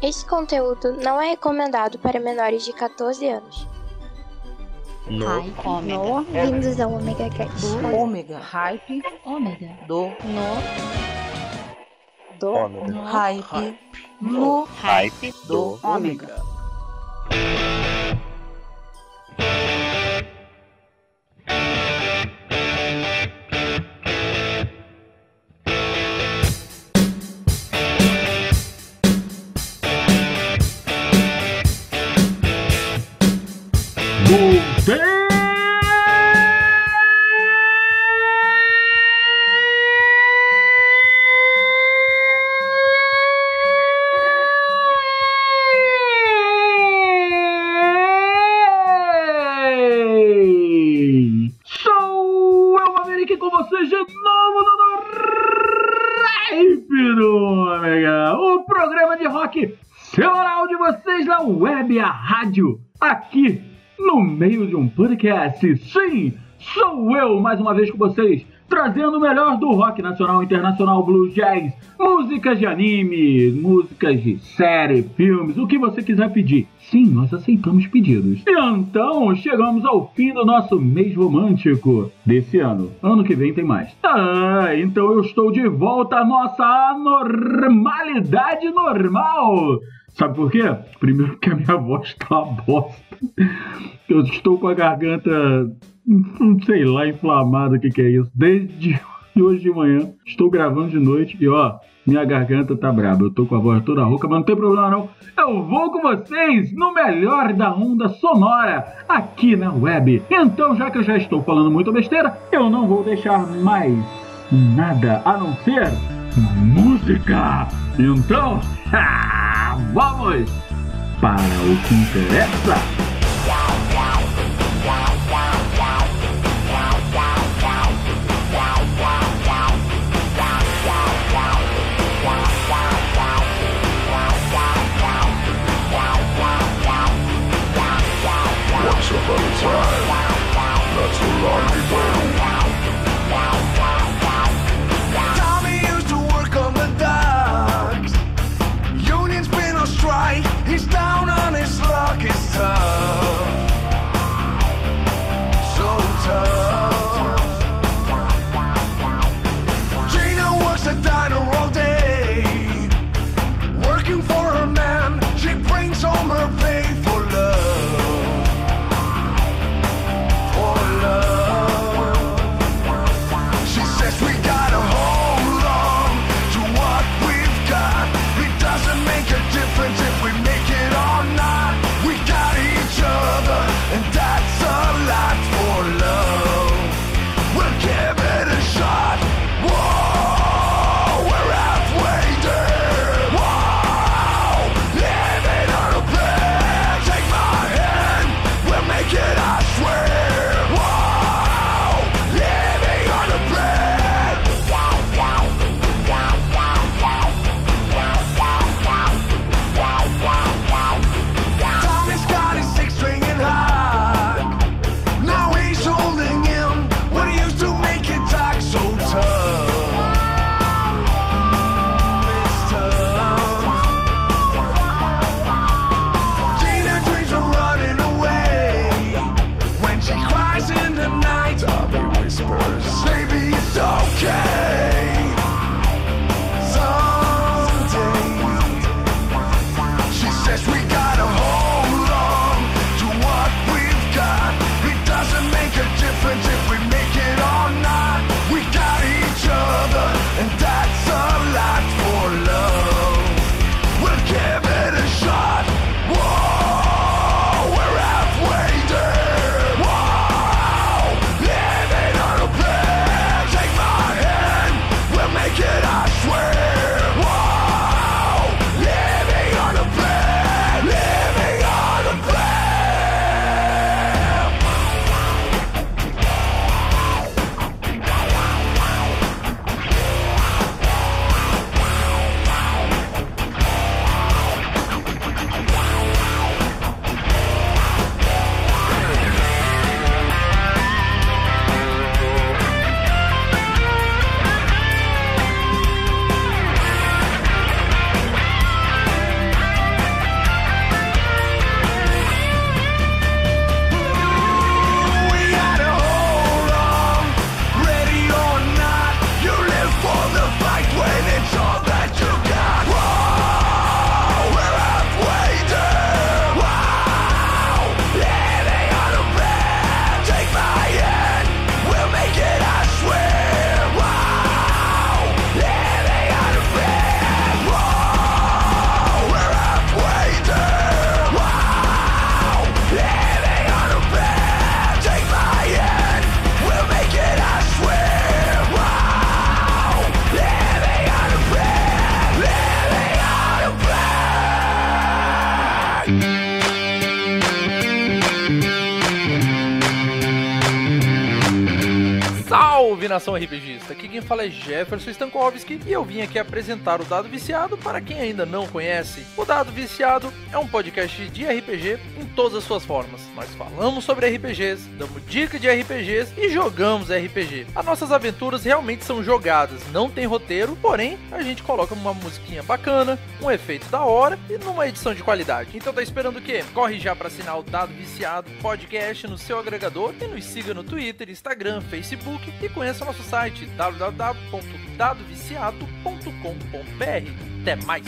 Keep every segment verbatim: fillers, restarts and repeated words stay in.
Este conteúdo não é recomendado para menores de catorze anos. No Hype. ômega. No. Bem-vindos ao Omega Cast. Do ômega. Hype. Ômega. Do. No. Do. Ômega. No. Hype. No. Hype Do. do Ômega. Sou eu, Maverick, com vocês de novo no Hype do Ômega, o programa de rock semanal de vocês na web, a rádio, aqui no meio de um podcast. Sim, sou eu mais uma vez com vocês, trazendo o melhor do rock nacional, internacional, blues, jazz, músicas de anime, músicas de série, filmes, o que você quiser pedir. Sim, nós aceitamos pedidos. E então, chegamos ao fim do nosso mês romântico desse ano. Ano que vem tem mais. Ah, então eu estou de volta à nossa anormalidade normal. Sabe por quê? Primeiro porque a minha voz tá uma bosta. Eu estou com a garganta, não sei lá, inflamada, o que que é isso. Desde hoje de manhã, estou gravando de noite e ó, minha garganta tá braba. Eu tô com a voz toda rouca, mas não tem problema não. Eu vou com vocês no melhor da onda sonora aqui na web. Então, já que eu já estou falando muita besteira, eu não vou deixar mais nada a não ser música. Então, vamos para o que interessa. Once upon a time, not so long ago, Tommy used to work on the docks. Union's been on strike, he's down on his luck, his time. nação RPGista, aqui quem fala é Jefferson Stankovski e eu vim aqui apresentar o Dado Viciado para quem ainda não conhece. O Dado Viciado é um podcast de R P G em todas as suas formas. Nós falamos sobre R P Gs, damos dicas de R P Gs e jogamos R P G. As nossas aventuras realmente são jogadas, não tem roteiro, porém a gente coloca uma musiquinha bacana, um efeito da hora e numa edição de qualidade. Então tá esperando o quê? Corre já para assinar o Dado Viciado Podcast no seu agregador e nos siga no Twitter, Instagram, Facebook e conheça nosso site w w w ponto dado viciado ponto com ponto b r. Até mais!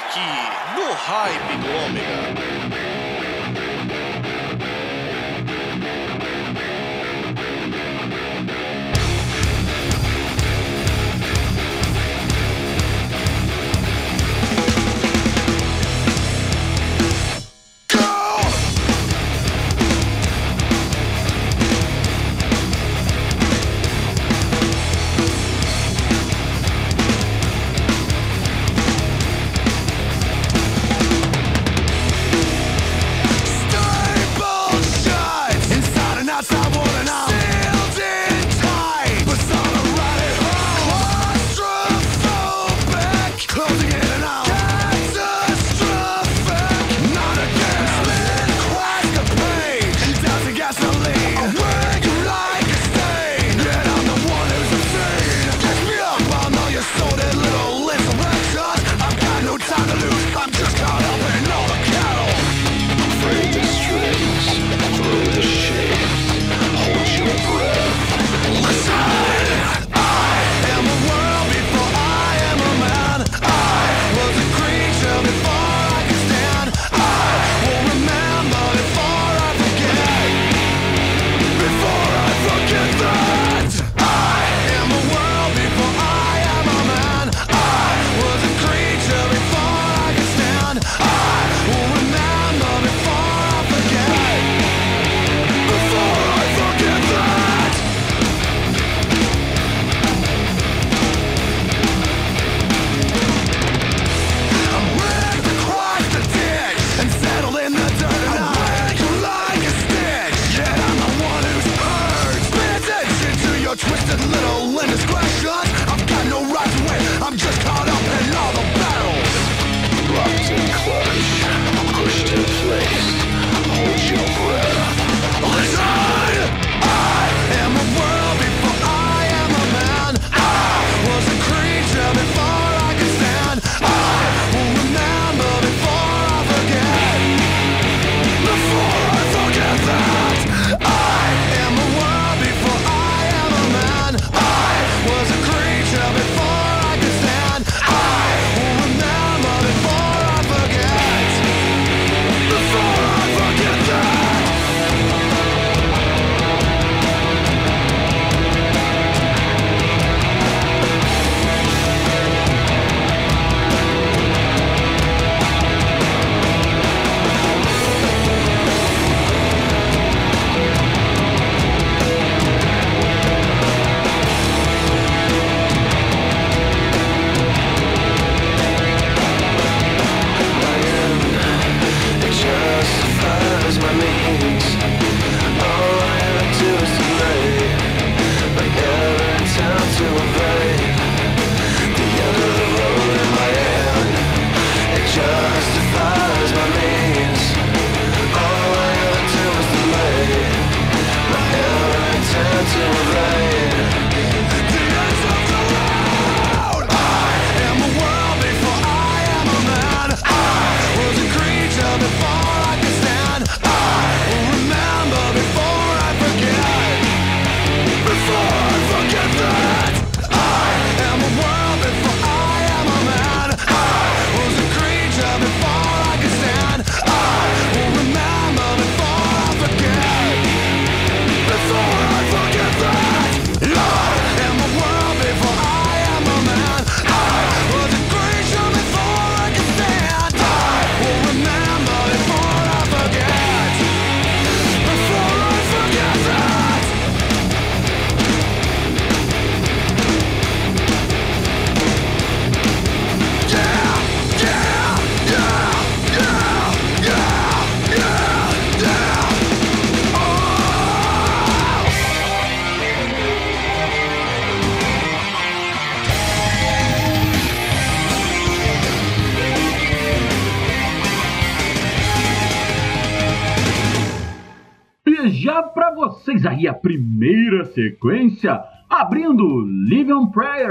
aqui no Hype do Ômega. Já para vocês aí a primeira sequência, abrindo Live on Prayer,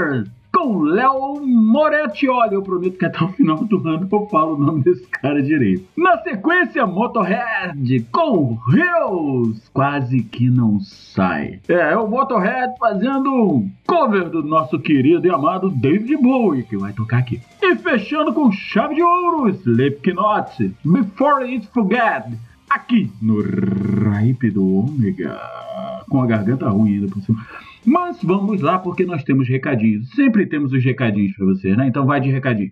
com Léo Moretti. Olha, eu prometo que até o final do ano eu falo o nome desse cara direito. Na sequência, Motorhead com Heroes, quase que não sai. É, é o Motorhead fazendo um cover do nosso querido e amado David Bowie, que vai tocar aqui. E fechando com chave de ouro, Slipknot, Before It Forget, aqui no Hype do Ômega, com a garganta ruim ainda por cima. Mas vamos lá, porque nós temos recadinhos. Sempre temos os recadinhos para vocês, né? Então vai de recadinho.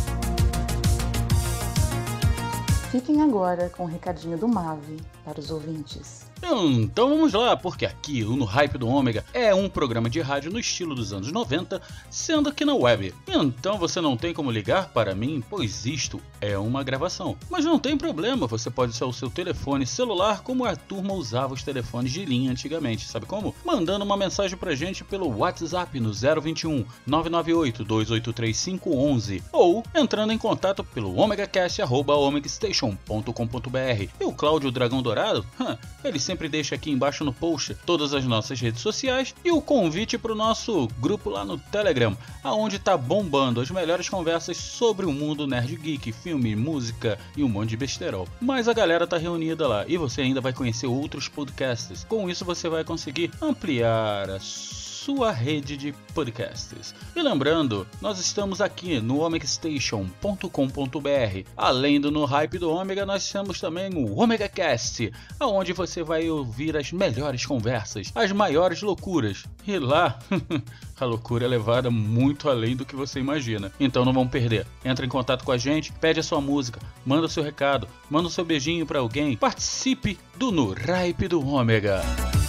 Fiquem agora com o recadinho do Mavi para os ouvintes. Então vamos lá, porque aqui o No Hype do Ômega é um programa de rádio no estilo dos anos noventa, sendo aqui na web. Então você não tem como ligar para mim, pois isto é uma gravação. Mas não tem problema, você pode usar o seu telefone celular como a turma usava os telefones de linha antigamente. Sabe como? Mandando uma mensagem pra gente pelo WhatsApp no zero vinte e um, nove nove oito, dois oito três cinco um um ou entrando em contato pelo omegacast arroba omegastation ponto com ponto br. E o Cláudio Dragão Dourado, hum, ele sempre deixa aqui embaixo no post todas as nossas redes sociais e o convite para o nosso grupo lá no Telegram, aonde tá bombando as melhores conversas sobre o mundo nerd geek, filme, música e um monte de besterol. Mas a galera tá reunida lá e você ainda vai conhecer outros podcasts. Com isso você vai conseguir ampliar a sua rede de podcasts. E lembrando, nós estamos aqui no omegastation ponto com ponto br. Além do No Hype do Ômega, nós temos também o OmegaCast, aonde você vai ouvir as melhores conversas, as maiores loucuras. E lá, a loucura é levada muito além do que você imagina. Então não vão perder. Entra em contato com a gente, pede a sua música, manda o seu recado, manda o seu beijinho pra alguém. Participe do No Hype do Ômega.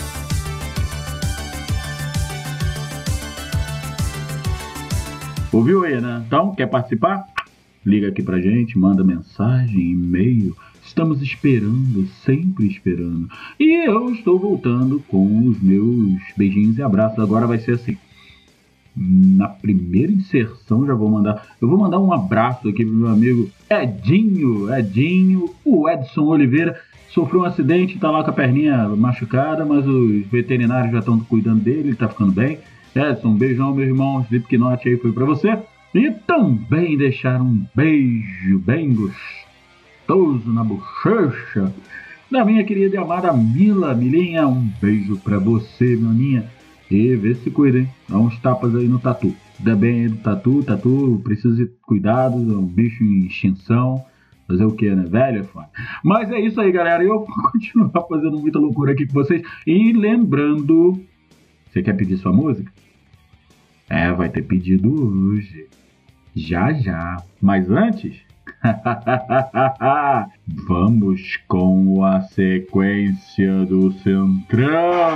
Ouviu aí, né? Então, quer participar? Liga aqui pra gente, manda mensagem, e-mail. Estamos esperando, sempre esperando. E eu estou voltando com os meus beijinhos e abraços. Agora vai ser assim. Na primeira inserção já vou mandar... Eu vou mandar um abraço aqui pro meu amigo Edinho. Edinho, o Edson Oliveira. Sofreu um acidente, tá lá com a perninha machucada, mas os veterinários já estão cuidando dele, ele tá ficando bem. Edson, um beijão, meu irmão. Slipknot aí foi pra você. E também deixar um beijo bem gostoso na bochecha da minha querida e amada Mila. Milinha, um beijo pra você, meu ninha. E vê se cuida, hein? Dá uns tapas aí no tatu. Cuida bem aí do tatu. Tatu precisa de cuidado, é um bicho em extinção. Fazer o que, né? Velho é foda. Mas é isso aí, galera. Eu vou continuar fazendo muita loucura aqui com vocês. E lembrando... Você quer pedir sua música? É, vai ter pedido hoje. Já, já. Mas antes... vamos com a sequência do Centrão.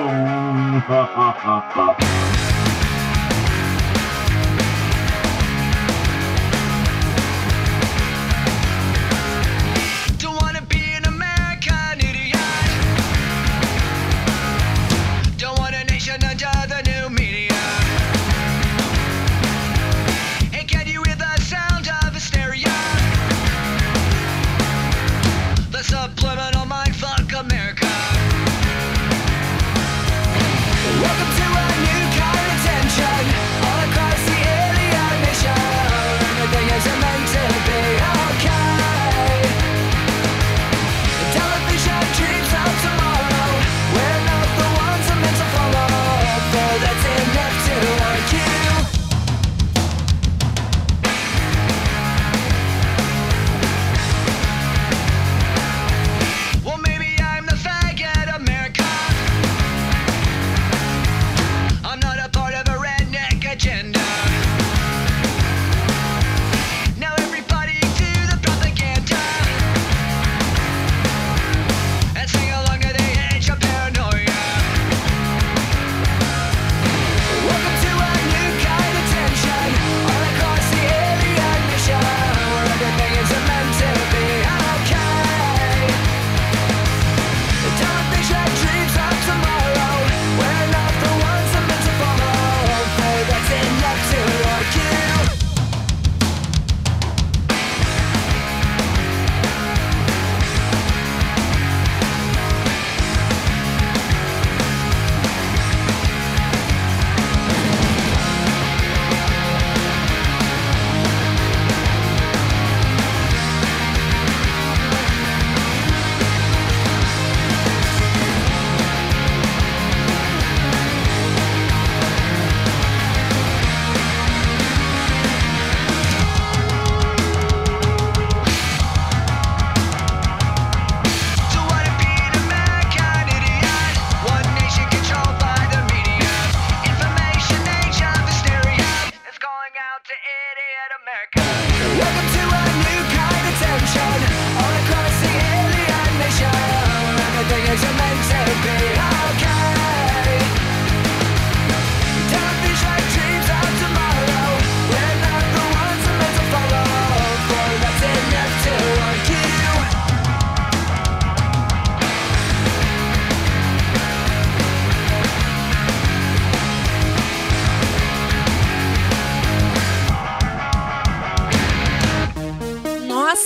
Subliminal mindfuck America. Welcome to a new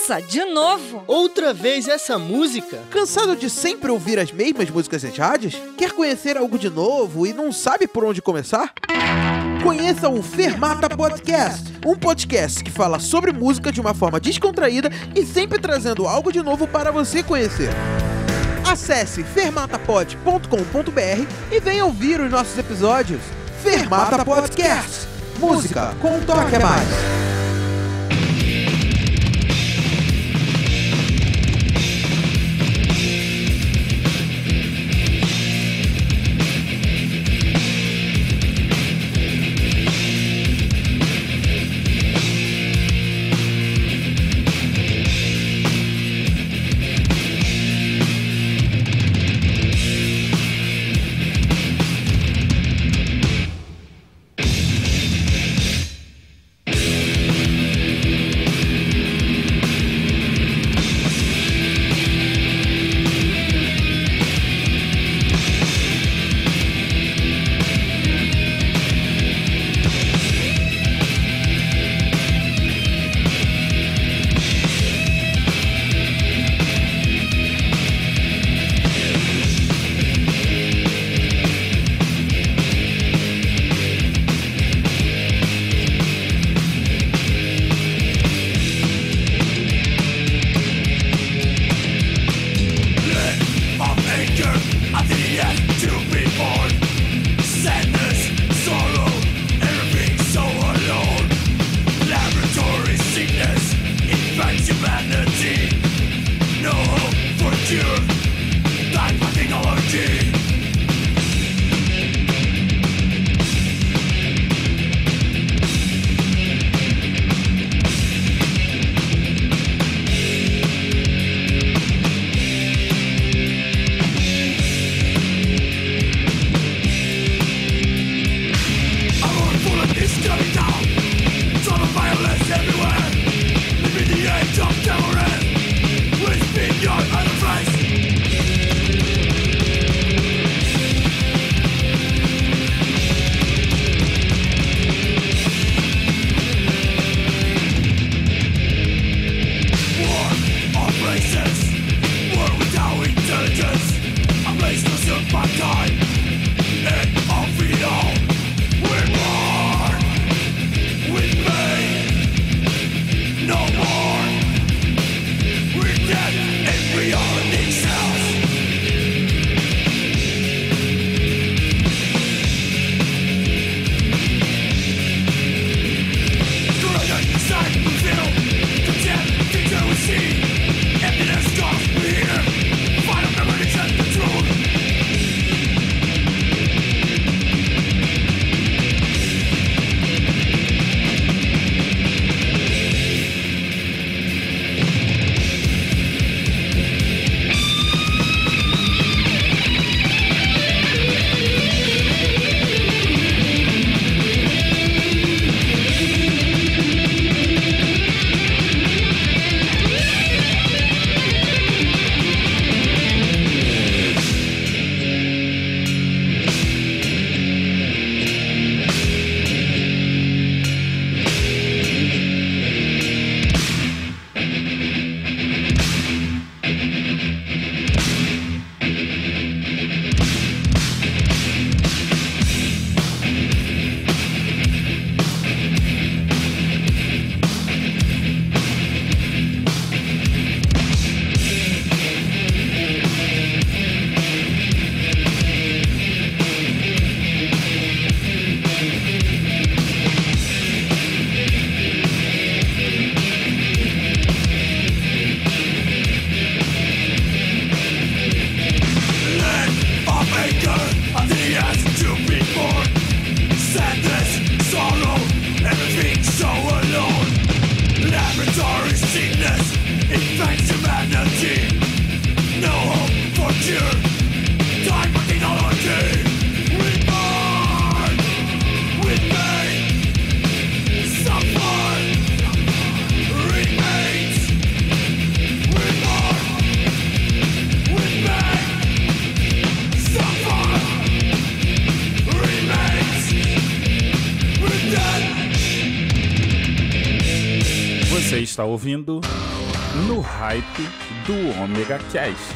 Nossa, de novo? Outra vez essa música? Cansado de sempre ouvir as mesmas músicas nas rádios? Quer conhecer algo de novo e não sabe por onde começar? Conheça o Fermata Podcast, um podcast que fala sobre música de uma forma descontraída e sempre trazendo algo de novo para você conhecer. Acesse fermatapod ponto com ponto b r e venha ouvir os nossos episódios. Fermata Podcast, música com um toque a mais. Você está ouvindo no Hype do Omega Cast.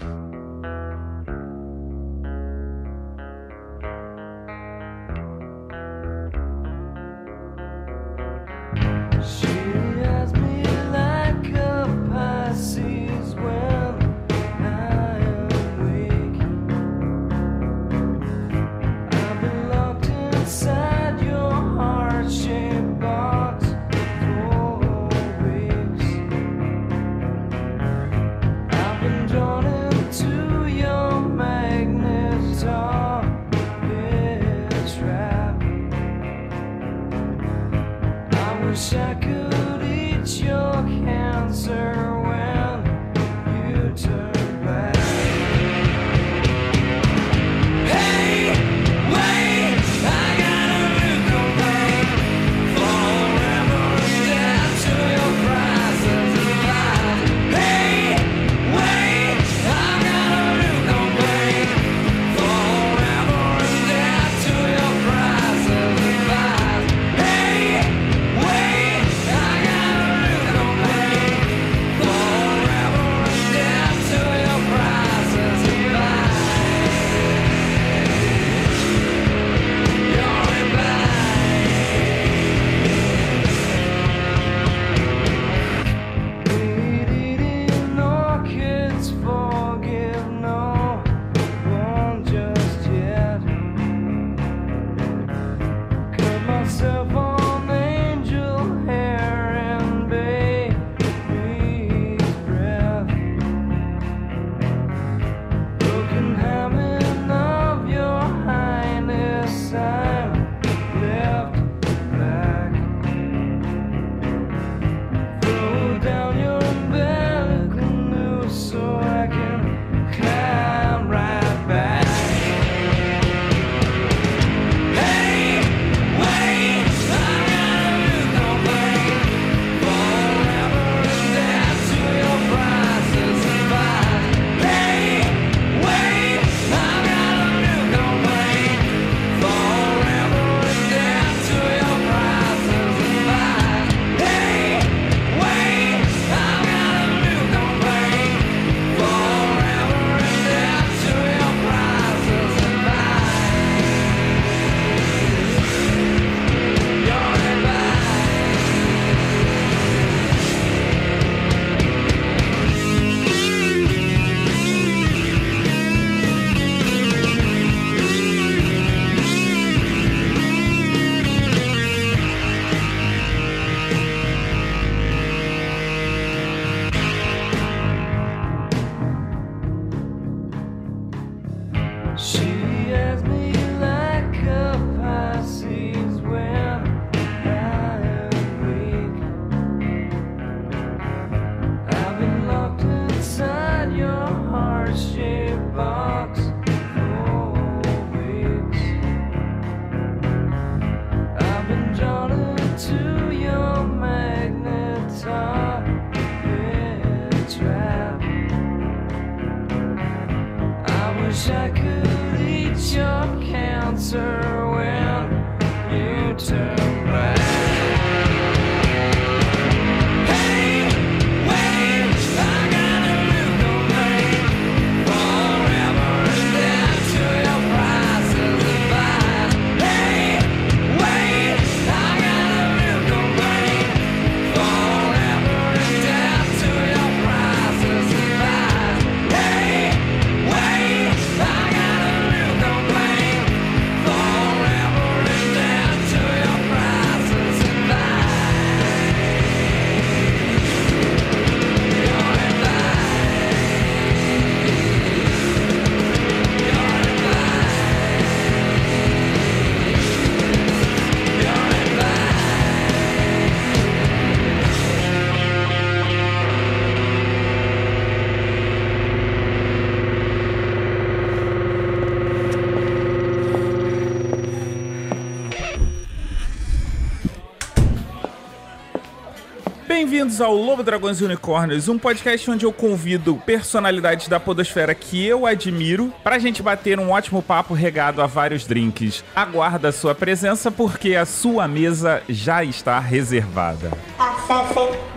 Bem-vindos ao Lobo, Dragões e Unicórnios, um podcast onde eu convido personalidades da podosfera que eu admiro pra gente bater um ótimo papo regado a vários drinks. Aguarda a sua presença porque a sua mesa já está reservada. Acesse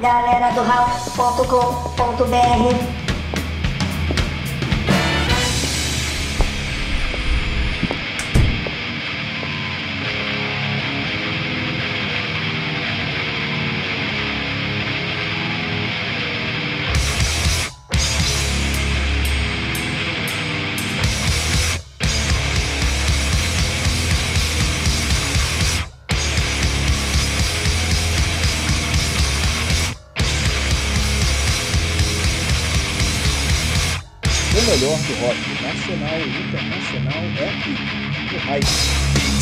galera do house ponto com ponto b r. O melhor do rock nacional e internacional é aqui, no Hype.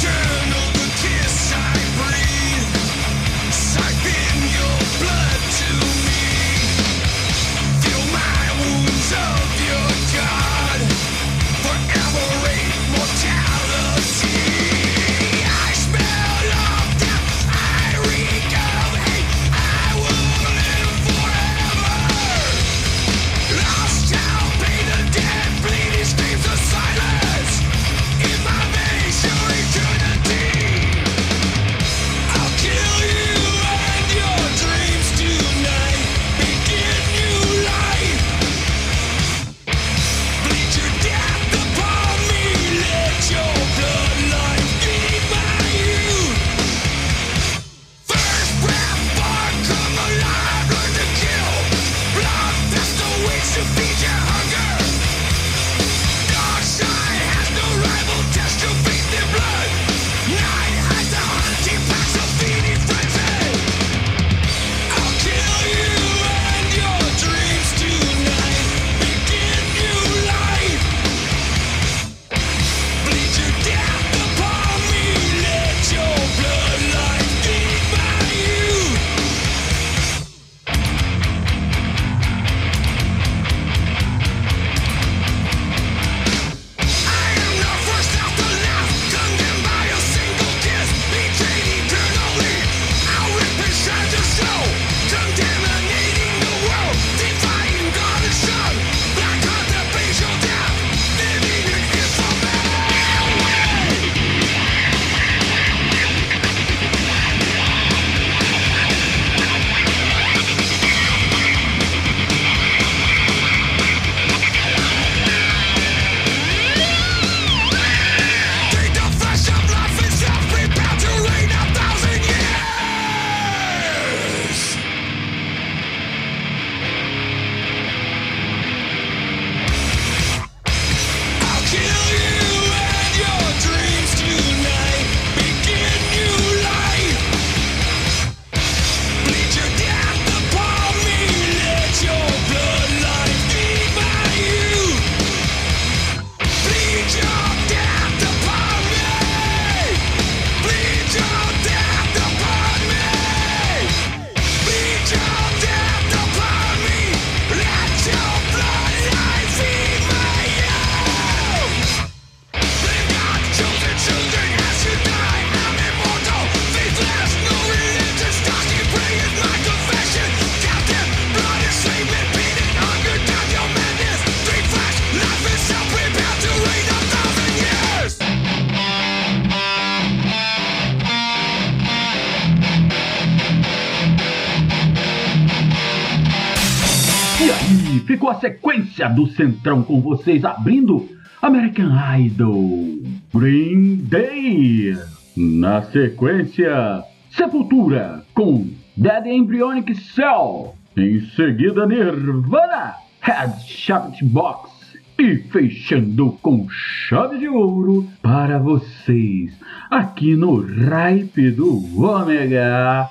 E aí, ficou a sequência do Centrão com vocês, abrindo American Idol, Green Day. Na sequência, Sepultura com Dead Embryonic Cell. Em seguida, Nirvana, Head Shaped Box. E fechando com chave de ouro para vocês, aqui no Hype do Ômega,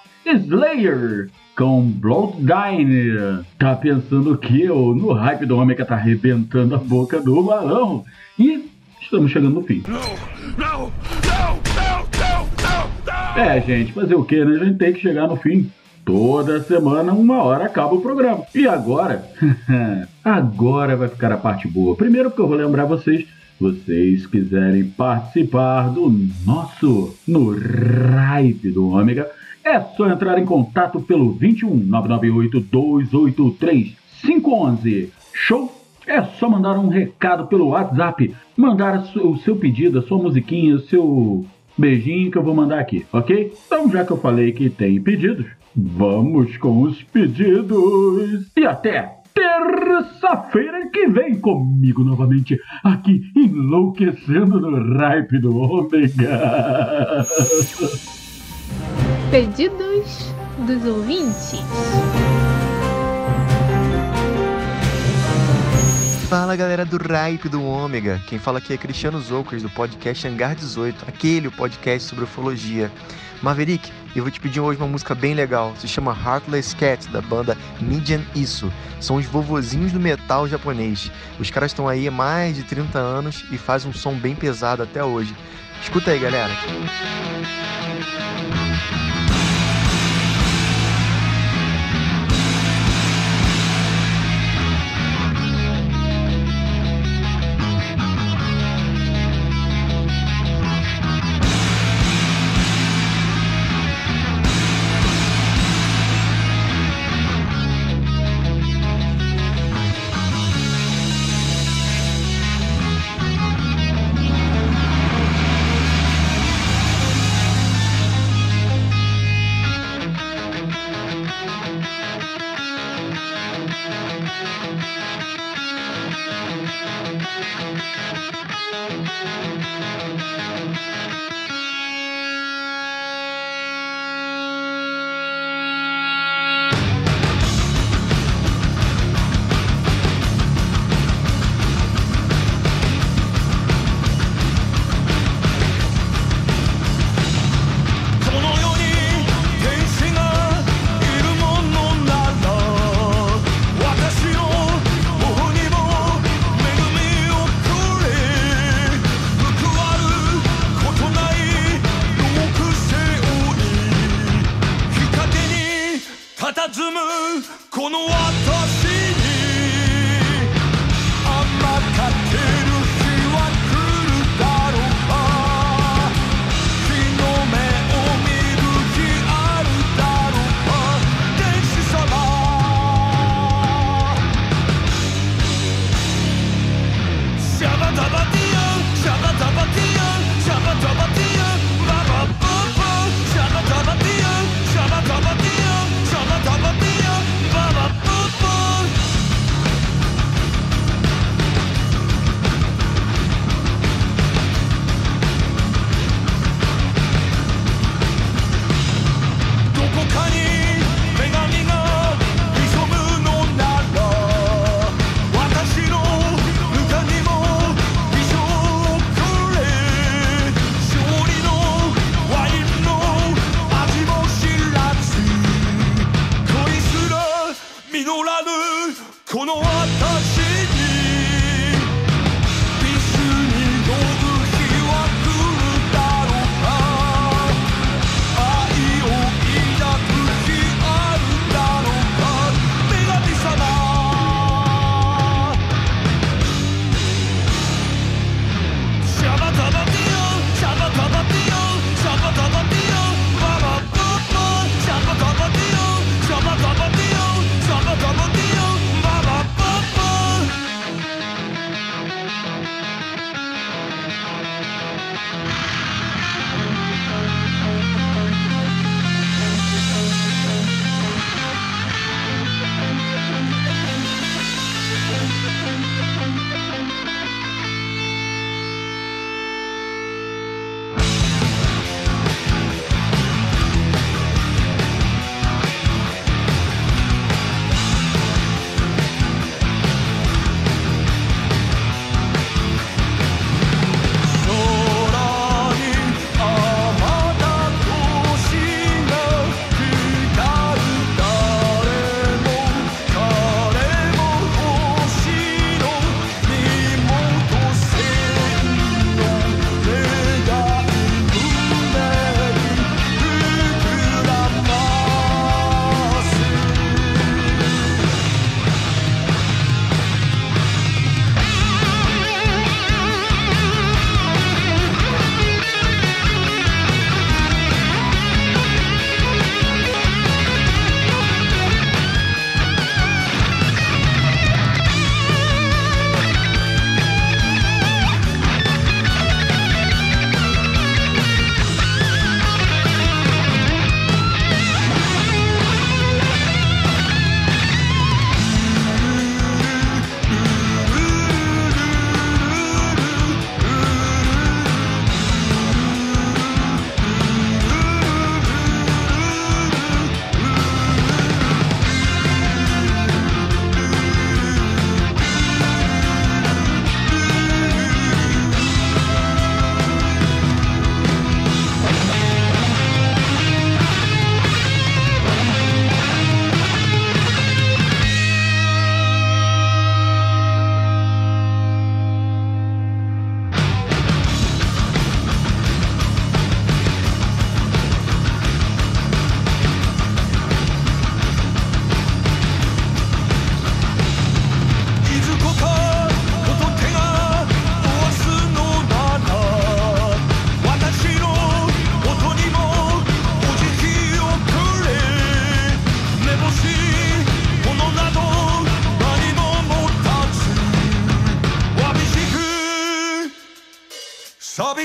Slayer com Bloodline. Tá pensando que eu, no Hype do Ômega, tá arrebentando a boca do balão. E estamos chegando no fim. Não, não, não, não, não, não. É, gente, fazer o que, né? A gente tem que chegar no fim. Toda semana, uma hora, acaba o programa. E agora? Agora vai ficar a parte boa. Primeiro porque eu vou lembrar vocês, vocês quiserem participar do nosso no Hype do Ômega, é só entrar em contato pelo vinte e um, nove nove oito, dois oito três, cinco um um. Show? É só mandar um recado pelo WhatsApp, mandar o seu pedido, a sua musiquinha, o seu Beijinho que eu vou mandar aqui, ok? Então, já que eu falei que tem pedidos, vamos com os pedidos. E até terça-feira que vem comigo novamente, aqui enlouquecendo no Hype do Ômega. Pedidos dos ouvintes. Fala galera do Hype do Ômega, quem fala aqui é Cristiano Zoucas do podcast Hangar dezoito, aquele o podcast sobre ufologia. Maverick, eu vou te pedir hoje uma música bem legal, se chama Heartless Cat, da banda Midian Isso. São os vovozinhos do metal japonês. Os caras estão aí há mais de trinta anos e fazem um som bem pesado até hoje. Escuta aí, galera.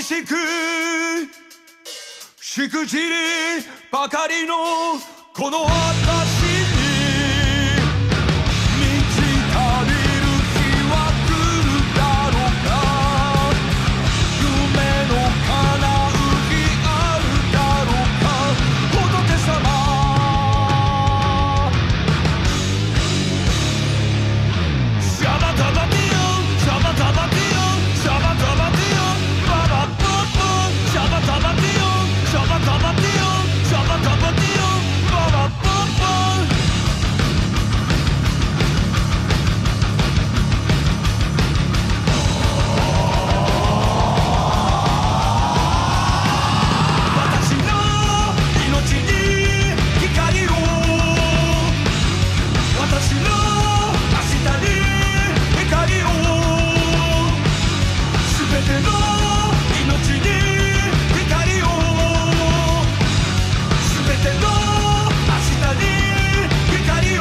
しくしくじりばかりのこの私に満ち足りる日は来るだろうか夢の叶う日あるだろうか仏様シャバタバティオシャバタバティオシャバタバティオババッポッポシャバタバティオシャバタバティオシャバタバティオババッポッポ私の命に光を私の明日に光をすべての命に光をすべての明日に光を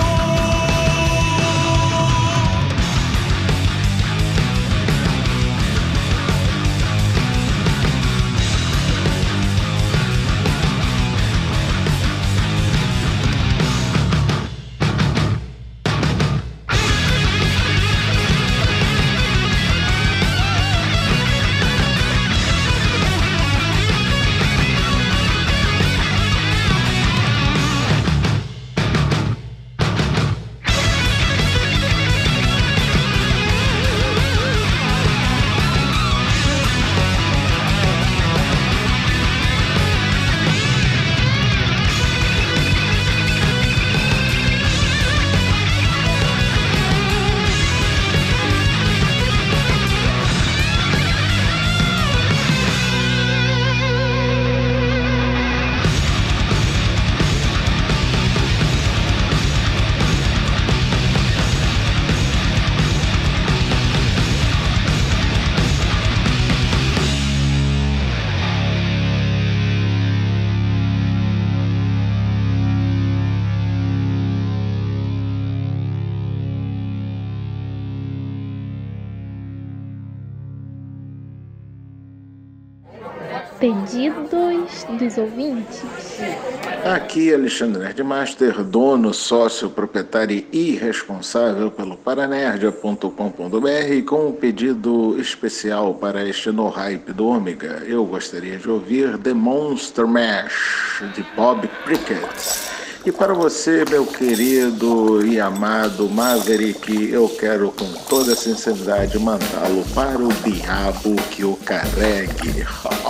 Pedidos dos ouvintes. Aqui Alexandre Nerdmaster, dono, sócio, proprietário e responsável pelo paranerdia ponto com ponto br, com um pedido especial para este No Hype do Ômega. Eu gostaria de ouvir The Monster Mash, de Bob Prickett. E para você, meu querido e amado Maverick, eu quero com toda sinceridade mandá-lo para o diabo que o carregue.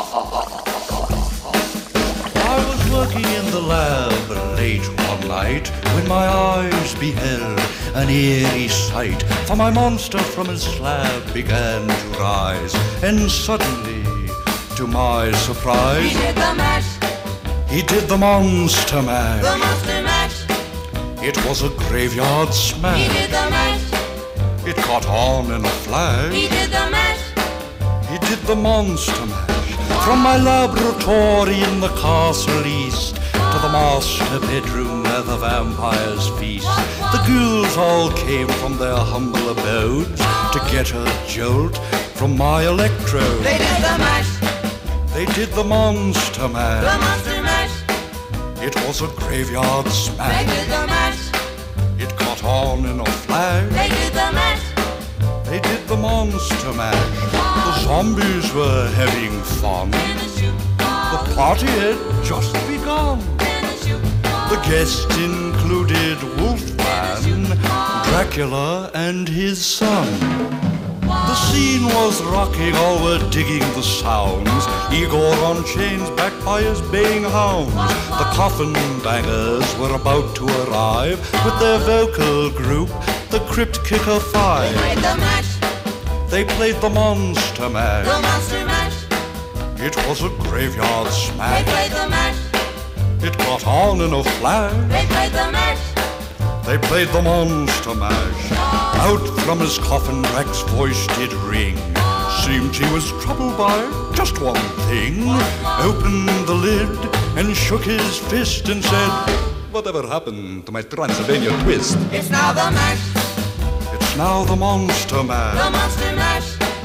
I was working in the lab late one night when my eyes beheld an eerie sight. For my monster from his slab began to rise, and suddenly, to my surprise, He did the mash. He did the monster mash. The monster mash. It was a graveyard smash. He did the mash. It caught on in a flash. He did the mash. He did the monster mash. From my laboratory in the castle east to the master bedroom where the vampires feast, the ghouls all came from their humble abodes to get a jolt from my electrode. They did the mash. They did the monster mash. The monster mash. It was a graveyard smash. They did the mash. It caught on in a flash. They did the mash. They did the monster mash. The zombies were having fun. The party had just begun. The guests included Wolfman, Dracula, and his son. The scene was rocking, all were digging the sounds. Igor on chains, backed by his baying hounds. The coffin bangers were about to arrive with their vocal group, the Crypt Kicker Five. They played the mash. They played the monster mash. The monster mash. It was a graveyard smash. They played the mash. It caught on in a flash. They played the mash. They played the monster mash. Out from his coffin Drac's voice did ring. Seemed he was troubled by just one thing. Opened the lid and shook his fist and said, "Whatever happened to my Transylvania twist?" It's now the mash. It's now the monster mash. The monster mash.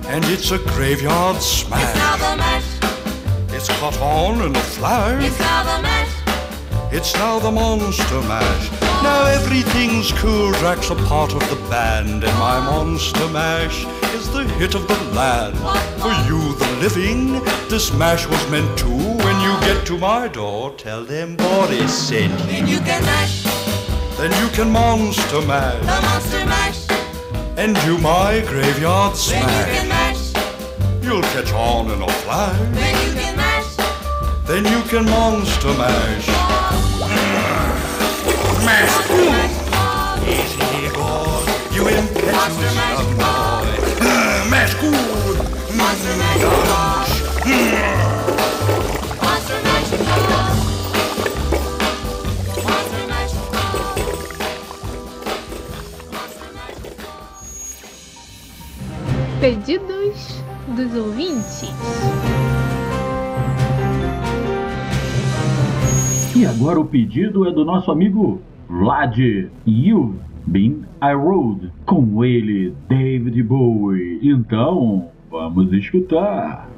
and it's a graveyard smash. It's now the mash. It's caught on in a flash. It's now the mash. It's now the Monster Mash. Now everything's cool. Drax a part of the band, and my Monster Mash is the hit of the land. For you, the living, this mash was meant to. When you get to my door, tell them Boris sent you. Then you can mash. Then you can Monster Mash. The Monster Mash. And do my graveyard smash. Then you can mash. You'll catch on in a flash. Then you can mash. Then you can Monster Mash. Mash. Easy, boy. You impetuous young boy. Mash good. Monster Mash. Monster Mash. Monster Mash. Pedidos dos ouvintes. E agora o pedido é do nosso amigo Vlad. You've Been I Rode, com ele, David Bowie. Então, vamos escutar.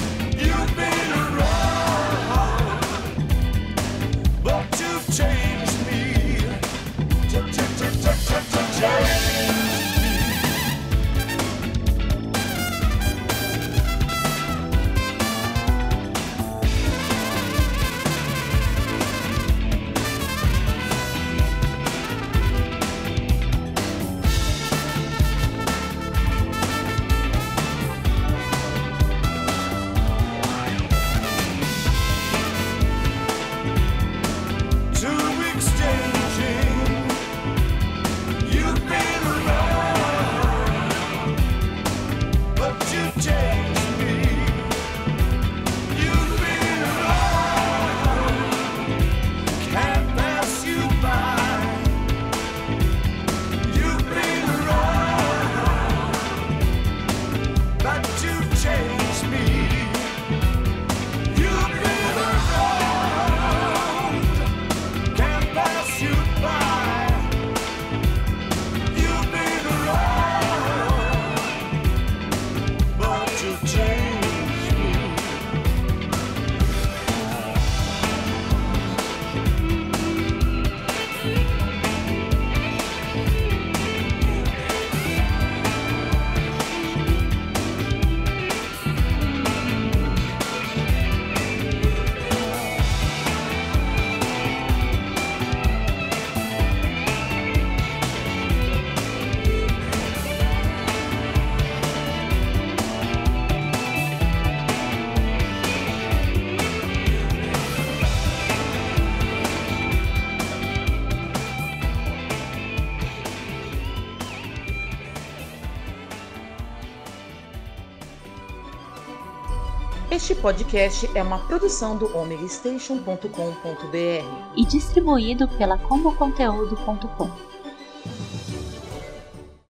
Change Este podcast é uma produção do omega station ponto com ponto b r e distribuído pela combo conteúdo ponto com.